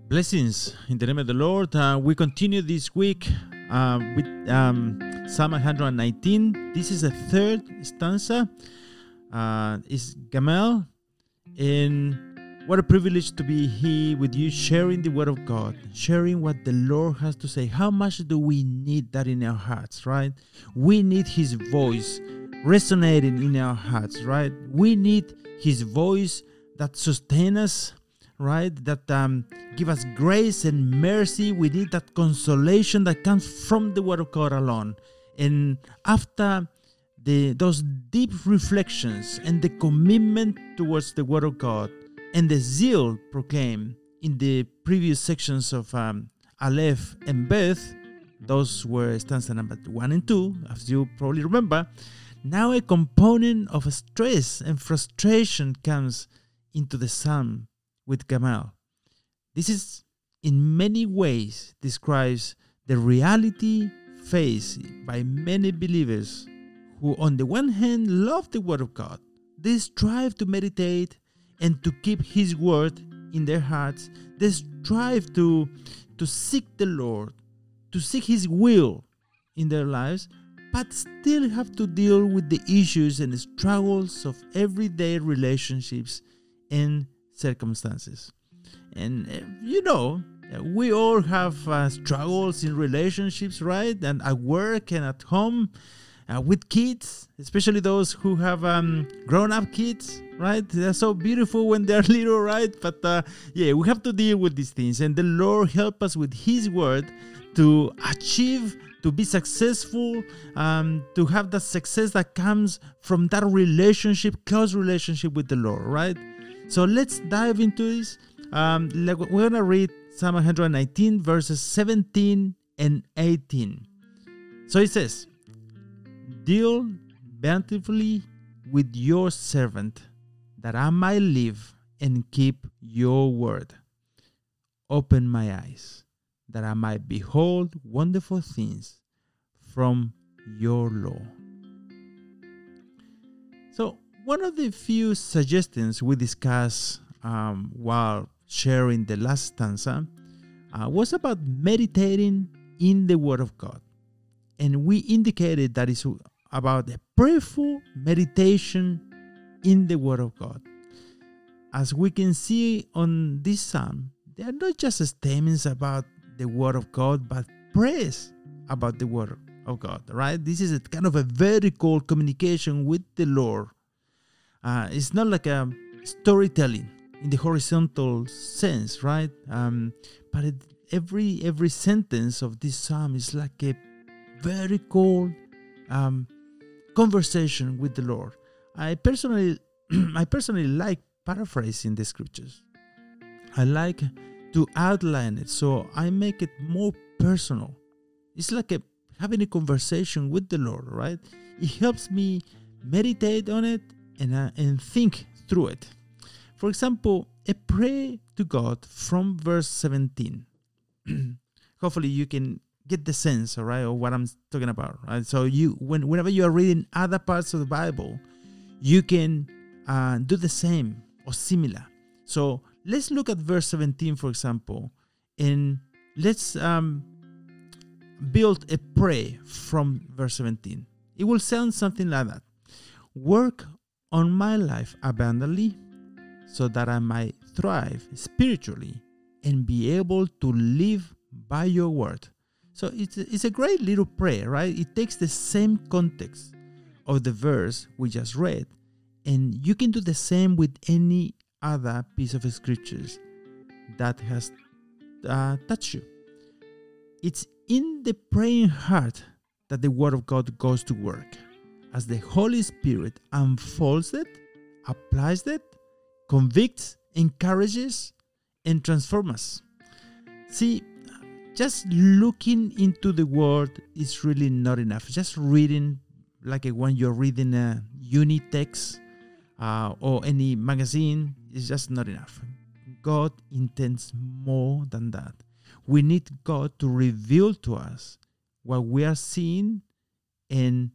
Blessings in the name of the Lord. We continue this week with Psalm 119. This is the third stanza. It's Gamel. And what a privilege to be here with you, sharing the Word of God, sharing what the Lord has to say. How much do we need that in our hearts, right? We need His voice resonating in our hearts, right? We need His voice that sustains us, right? That give us grace and mercy. We need that consolation that comes from the Word of God alone. And after those deep reflections and the commitment towards the Word of God and the zeal proclaimed in the previous sections of Aleph and Beth, those were stanza number 1 and 2, as you probably remember. Now a component of stress and frustration comes into the psalm with Gamal. This is in many ways describes the reality faced by many believers who on the one hand love the Word of God. They strive to meditate and to keep His Word in their hearts. They strive to seek the Lord, to seek His will in their lives, but still have to deal with the issues and the struggles of everyday relationships and circumstances. And we all have struggles in relationships, right? And at work and at home, with kids, especially those who have grown-up kids, right? They're so beautiful when they're little, right? But we have to deal with these things. And the Lord help us with His Word to achieve, to be successful, to have the success that comes from that relationship, close relationship with the Lord, right? So let's dive into this. We're going to read Psalm 119, verses 17 and 18. So it says, "Deal bountifully with your servant, that I might live and keep your word. Open my eyes, that I might behold wonderful things from your law." So, one of the few suggestions we discussed while sharing the last stanza was about meditating in the Word of God. And we indicated that it's about a prayerful meditation in the Word of God. As we can see on this psalm, they are not just statements about the Word of God, but praise about the Word of God, right? This is a kind of a vertical communication with the Lord. It's not like a storytelling in the horizontal sense, right? But every sentence of this psalm is like a vertical conversation with the Lord. I personally like paraphrasing the scriptures. I like to outline it, so I make it more personal. It's like having a conversation with the Lord, right? It helps me meditate on it and think through it. For example, a prayer to God from verse 17. Hopefully you can get the sense, all right, of what I'm talking about, right? So whenever you are reading other parts of the Bible, you can do the same or similar. So let's look at verse 17, for example, and let's build a prayer from verse 17. It will sound something like that. "Work on my life abundantly, so that I might thrive spiritually and be able to live by your word." So it's a great little prayer, right? It takes the same context of the verse we just read, and you can do the same with any other piece of scriptures that has touched you. It's in the praying heart that the Word of God goes to work, as the Holy Spirit unfolds it, applies it, convicts, encourages, and transforms us. See, just looking into the Word is really not enough. Just reading, like when you're reading a uni text or any magazine, is just not enough. God intends more than that. We need God to reveal to us what we are seeing, and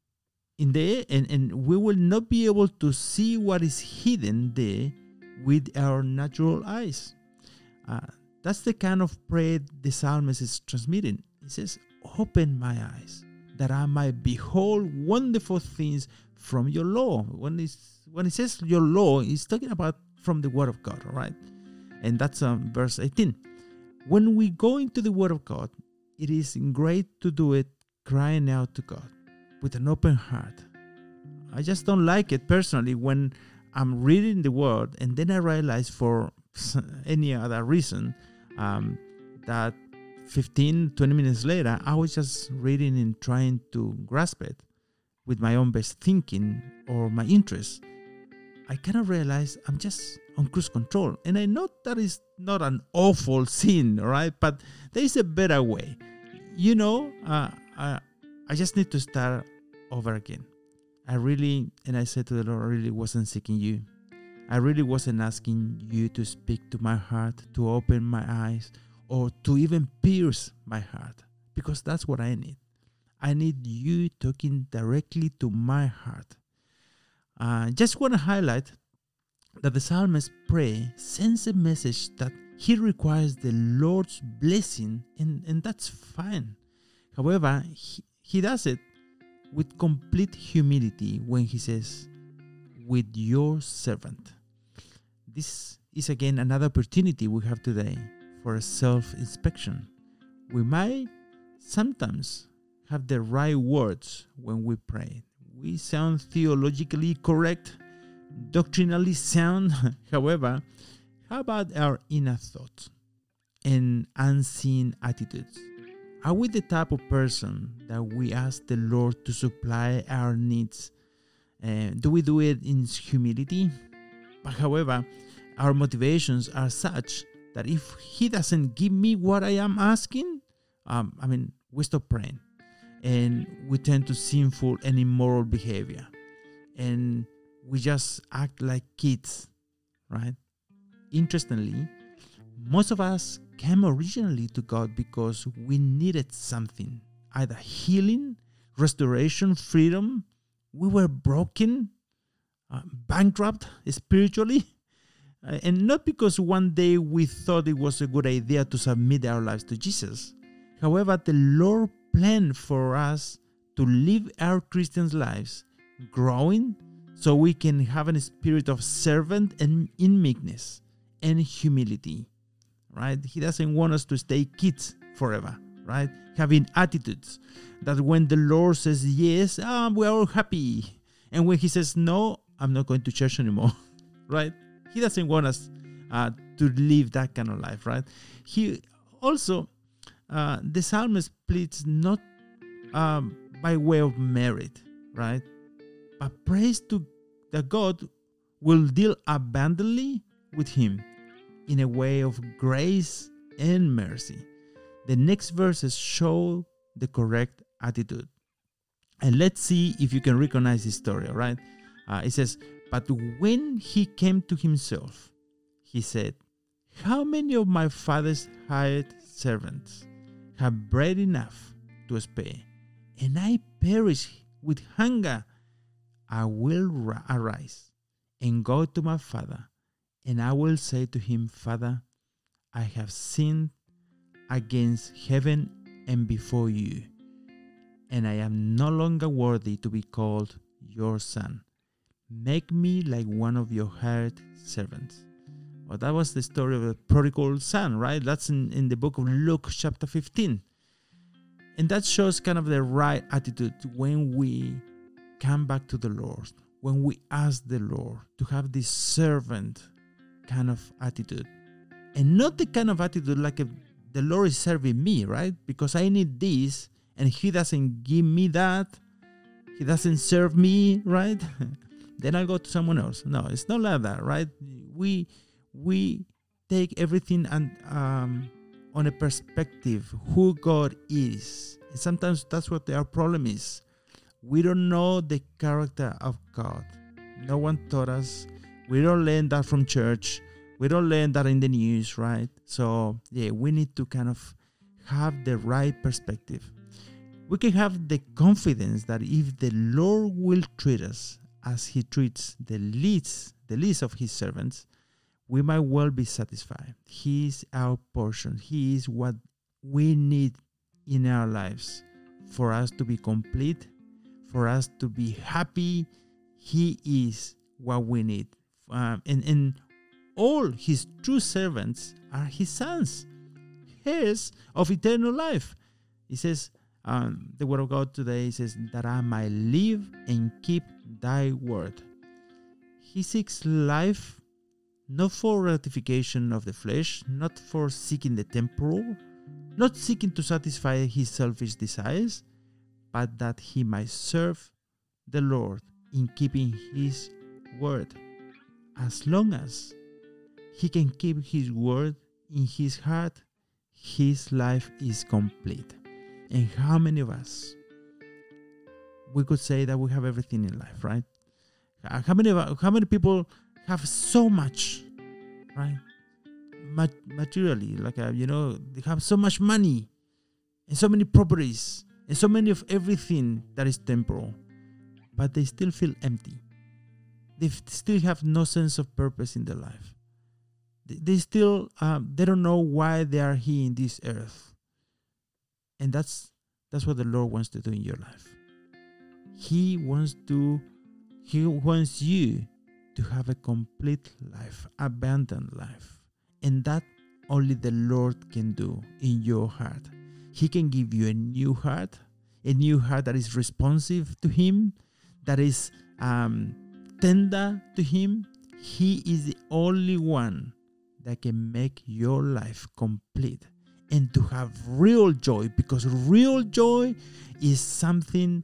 we will not be able to see what is hidden there with our natural eyes. That's the kind of prayer the psalmist is transmitting. He says, open my eyes that I might behold wonderful things from your law. When he says your law, he's talking about from the word of God, all right? And that's verse 18. When we go into the word of God, it is great to do it crying out to God with an open heart. I just don't like it personally when I'm reading the word and then I realize for any other reason that 15, 20 minutes later, I was just reading and trying to grasp it with my own best thinking or my interests. I kind of realize I'm just on cruise control. And I know that is not an awful sin, right? But there is a better way. I just need to start over again. I said to the Lord, I really wasn't seeking you. I really wasn't asking you to speak to my heart, to open my eyes, or to even pierce my heart, because that's what I need. I need you talking directly to my heart. Just want to highlight that the psalmist's prayer sends a message that he requires the Lord's blessing, and that's fine. However, he does it with complete humility when he says, with your servant. This is again another opportunity we have today for a self-inspection. We might sometimes have the right words when we pray. We sound theologically correct, doctrinally sound. However, how about our inner thoughts and unseen attitudes? Are we the type of person that we ask the Lord to supply our needs? Do we do it in humility? But however, our motivations are such that if He doesn't give me what I am asking, we stop praying. And we tend to sinful and immoral behavior. And we just act like kids, right? Interestingly, most of us came originally to God because we needed something, either healing, restoration, freedom. We were broken, bankrupt spiritually, and not because one day we thought it was a good idea to submit our lives to Jesus. However, the Lord planned for us to live our Christian lives growing so we can have a spirit of servant and in meekness and humility, right? He doesn't want us to stay kids forever, right? Having attitudes that when the Lord says yes, we're all happy. And when He says no, I'm not going to church anymore, right? He doesn't want us to live that kind of life, right? He also, the psalmist pleads not by way of merit, right? But prays that God will deal abundantly with him in a way of grace and mercy. The next verses show the correct attitude. And let's see if you can recognize this story, all right? It says, but when he came to himself, he said, how many of my father's hired servants have bread enough to spare, and I perish with hunger? I will arise and go to my father, and I will say to him, Father, I have sinned against heaven and before you, and I am no longer worthy to be called your son. Make me like one of your hired servants. Well, that was the story of the prodigal son, right? That's in the book of Luke chapter 15. And that shows kind of the right attitude when we come back to the Lord, when we ask the Lord to have this servant kind of attitude. And not the kind of attitude like the Lord is serving me, right? Because I need this and He doesn't give me that. He doesn't serve me, right? Then I'll go to someone else. No, it's not like that, right? We take everything and on a perspective, who God is. And sometimes that's what our problem is. We don't know the character of God. No one taught us. We don't learn that from church. We don't learn that in the news, right? So, we need to kind of have the right perspective. We can have the confidence that if the Lord will treat us as He treats the least of His servants, we might well be satisfied. He is our portion. He is what we need in our lives for us to be complete, for us to be happy. He is what we need. And all his true servants are his sons, heirs of eternal life. He says, the word of God today says, that I might live and keep thy word. He seeks life not for gratification of the flesh, not for seeking the temporal, not seeking to satisfy his selfish desires, but that he might serve the Lord in keeping his word. As long as he can keep his word in his heart, his life is complete. And how many of us, we could say that we have everything in life, right? How many people have so much, right? Materially, like, they have so much money and so many properties and so many of everything that is temporal, but they still feel empty. They still have no sense of purpose in their life. They still, they don't know why they are here in this earth. And that's what the Lord wants to do in your life. He wants you to have a complete life, abundant life. And that only the Lord can do in your heart. He can give you a new heart that is responsive to him, that is tender to him. He is the only one that can make your life complete and to have real joy, because real joy is something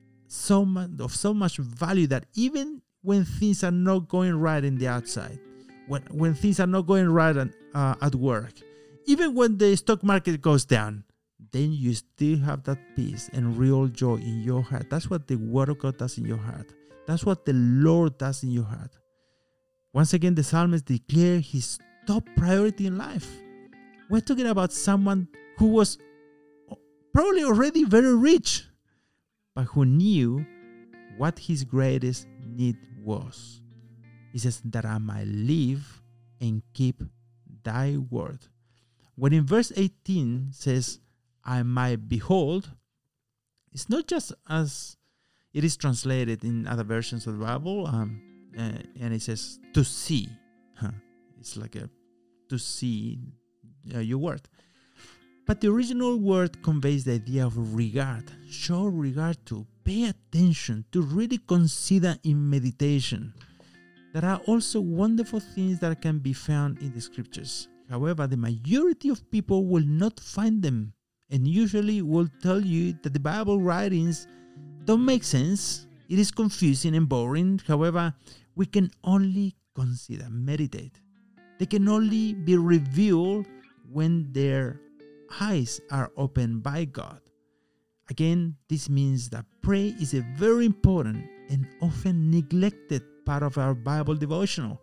of so much value that even when things are not going right in the outside, when things are not going right at work, even when the stock market goes down, then you still have that peace and real joy in your heart. That's what the Word of God does in your heart. That's what the Lord does in your heart. Once again, the psalmist declared his top priority in life. We're talking about someone who was probably already very rich, but who knew what his greatest need was. He says, that I might live and keep thy word. When in verse 18 says, I might behold, it's not just as it is translated in other versions of the Bible, and it says to see. It's like to see your word. But the original word conveys the idea of regard. Show regard to, pay attention, to really consider in meditation. There are also wonderful things that can be found in the scriptures. However, the majority of people will not find them, and usually will tell you that the Bible writings don't make sense. It is confusing and boring. However, we can only consider, meditate. They can only be revealed when their eyes are opened by God. Again, this means that prayer is a very important and often neglected part of our Bible devotional.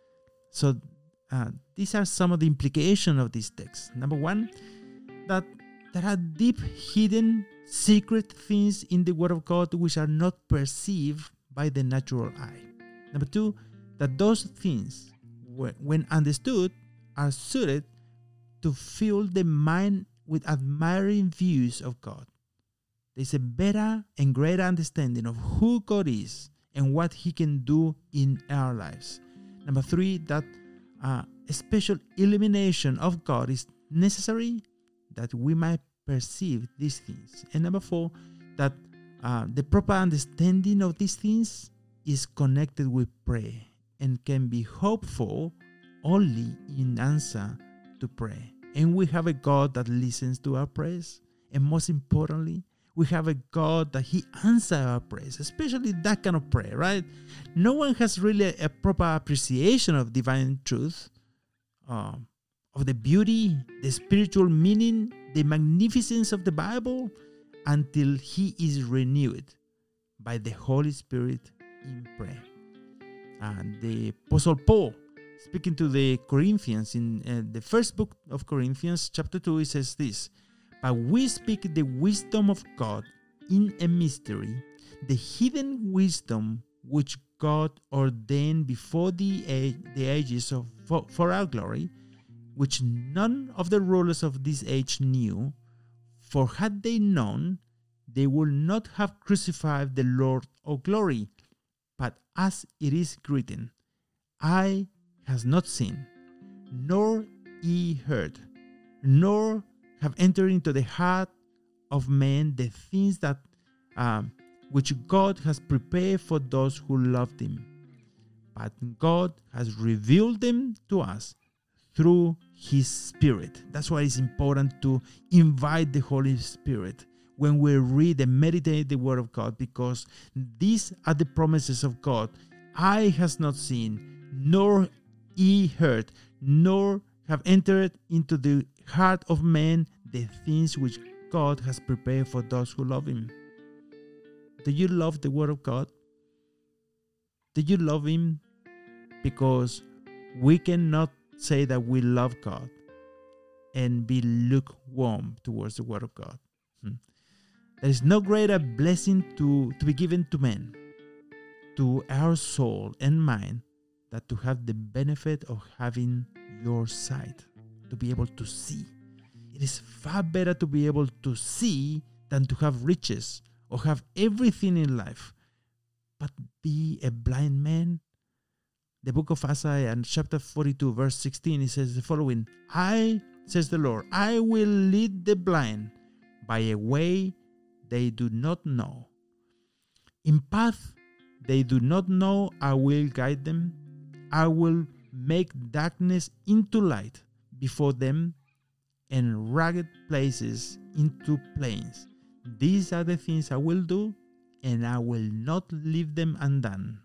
So these are some of the implications of this text. Number one, that there are deep, hidden, secret things in the Word of God which are not perceived by the natural eye. Number two, that those things, when understood, are suited to fill the mind with admiring views of God. There's a better and greater understanding of who God is and what He can do in our lives. Number three, that a special illumination of God is necessary that we might perceive these things. And number four, that the proper understanding of these things is connected with prayer and can be hopeful only in answer to prayer. And we have a God that listens to our prayers. And most importantly, we have a God that He answers our prayers, especially that kind of prayer, right? No one has really a proper appreciation of divine truth, of the beauty, the spiritual meaning, the magnificence of the Bible, until he is renewed by the Holy Spirit in prayer. And the Apostle Paul, speaking to the Corinthians in the first book of Corinthians, chapter 2, he says this: "But we speak the wisdom of God in a mystery, the hidden wisdom which God ordained before the ages for our glory, which none of the rulers of this age knew. For had they known, they would not have crucified the Lord of glory. But as it is written, eye has not seen, nor ear heard, nor have entered into the heart of man the things that which God has prepared for those who love Him. But God has revealed them to us through His Spirit. That's why it's important to invite the Holy Spirit when we read and meditate the Word of God, because these are the promises of God. Eye has not seen, nor ear heard, nor have entered into the heart of man the things which God has prepared for those who love Him. Do you love the Word of God? Do you love Him? Because we cannot say that we love God and be lukewarm towards the Word of God. There is no greater blessing to be given to men, to our soul and mind, than to have the benefit of having your sight, to be able to see. It is far better to be able to see than to have riches or have everything in life, but be a blind man. The book of Isaiah, chapter 42, verse 16, it says the following: I, says the Lord, I will lead the blind by a way they do not know. In path they do not know, I will guide them. I will make darkness into light before them, and rugged places into plains. These are the things I will do, and I will not leave them undone.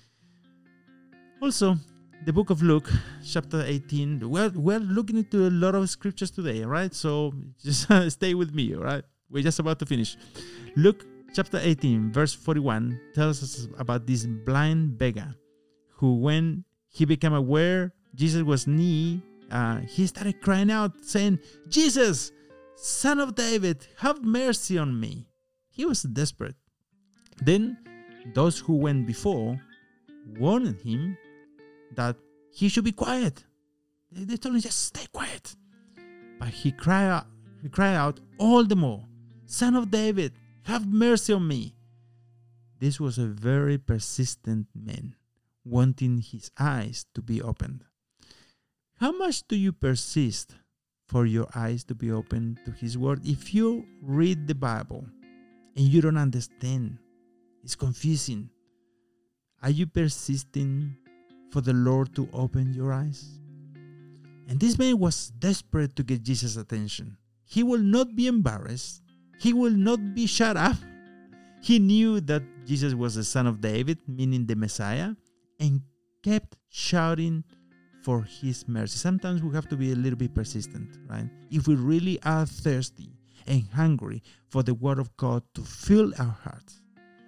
Also, the book of Luke, chapter 18, we're looking into a lot of scriptures today, right? So just stay with me, all right? We're just about to finish. Luke chapter 18, verse 41 tells us about this blind beggar who, when he became aware Jesus was near, he started crying out, saying, Jesus, Son of David, have mercy on me. He was desperate. Then those who went before warned him that he should be quiet. They told him, just stay quiet. But he cried out all the more, Son of David, have mercy on me. This was a very persistent man, wanting his eyes to be opened. How much do you persist for your eyes to be open to His Word? If you read the Bible and you don't understand, it's confusing, are you persisting for the Lord to open your eyes? And this man was desperate to get Jesus' attention. He will not be embarrassed. He will not be shut up. He knew that Jesus was the Son of David, meaning the Messiah, and kept shouting for His mercy. Sometimes we have to be a little bit persistent, right? If we really are thirsty and hungry for the Word of God to fill our hearts,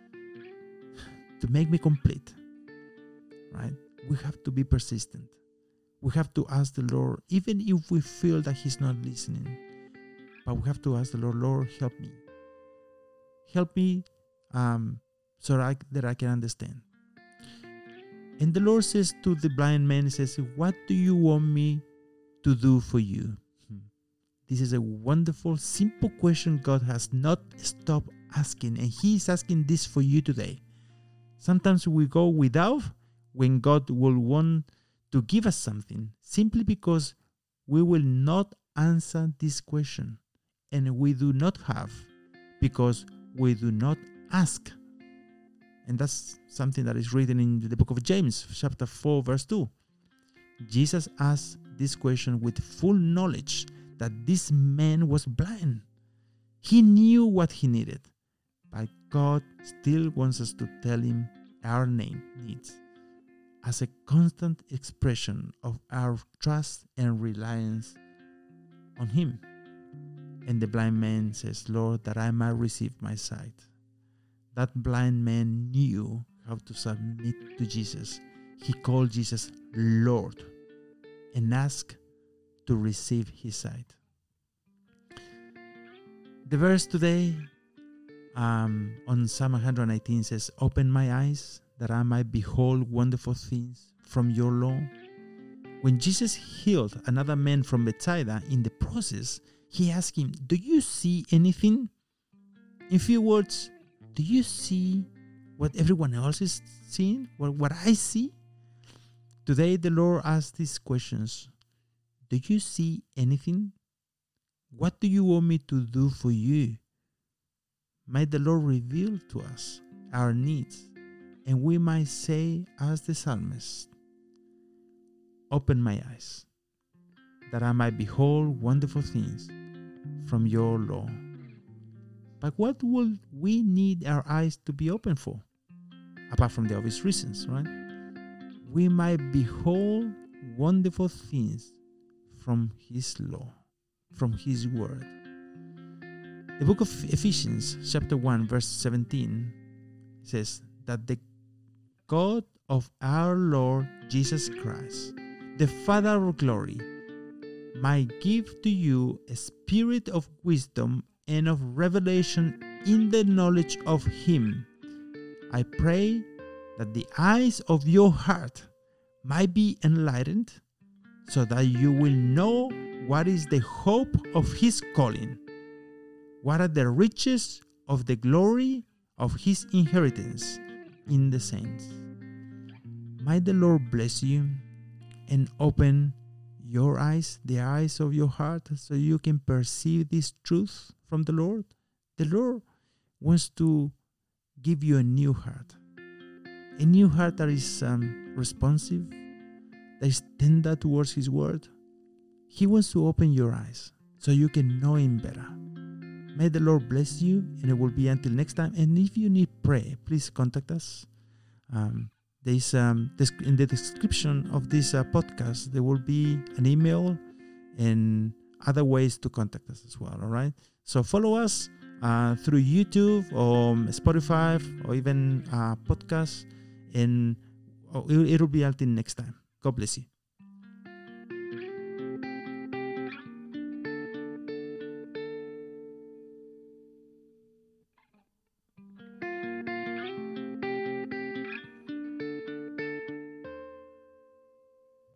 to make me complete, right? We have to be persistent. We have to ask the Lord, even if we feel that He's not listening. But we have to ask the Lord, Lord, help me. Help me so that I can understand. And the Lord says to the blind man, He says, what do you want me to do for you? This is a wonderful, simple question God has not stopped asking. And He is asking this for you today. Sometimes we go without when God will want to give us something, simply because we will not answer this question. And we do not have because we do not ask. And that's something that is written in the book of James, chapter 4, verse 2. Jesus asked this question with full knowledge that this man was blind. He knew what he needed, but God still wants us to tell Him our needs as a constant expression of our trust and reliance on Him. And the blind man says, Lord, that I might receive my sight. That blind man knew how to submit to Jesus. He called Jesus Lord and asked to receive his sight. The verse today on Psalm 119 says, open my eyes that I might behold wonderful things from your law. When Jesus healed another man from Bethsaida, in the process, he asked him, do you see anything? In few words, do you see what everyone else is seeing? What I see? Today, the Lord asks these questions. Do you see anything? What do you want me to do for you? Might the Lord reveal to us our needs, and we might say, as the psalmist, open my eyes, that I might behold wonderful things from your law. But what will we need our eyes to be open for? Apart from the obvious reasons, right? We might behold wonderful things from his law, from his word. The book of Ephesians, chapter 1, verse 17, says that the God of our Lord Jesus Christ, the Father of glory, might give to you a spirit of wisdom and of revelation in the knowledge of him. I pray that the eyes of your heart might be enlightened, so that you will know what is the hope of his calling, what are the riches of the glory of his inheritance in the saints. Might the Lord bless you and open your eyes, the eyes of your heart, so you can perceive this truth from the Lord. The Lord wants to give you a new heart that is responsive, that is tender towards his word. He wants to open your eyes so you can know him better. May the Lord bless you, and it will be until next time. And if you need prayer, please contact us. There's in the description of this podcast, there will be an email and other ways to contact us as well. All right. So follow us through YouTube or Spotify or even podcasts, and it'll be until next time. God bless you.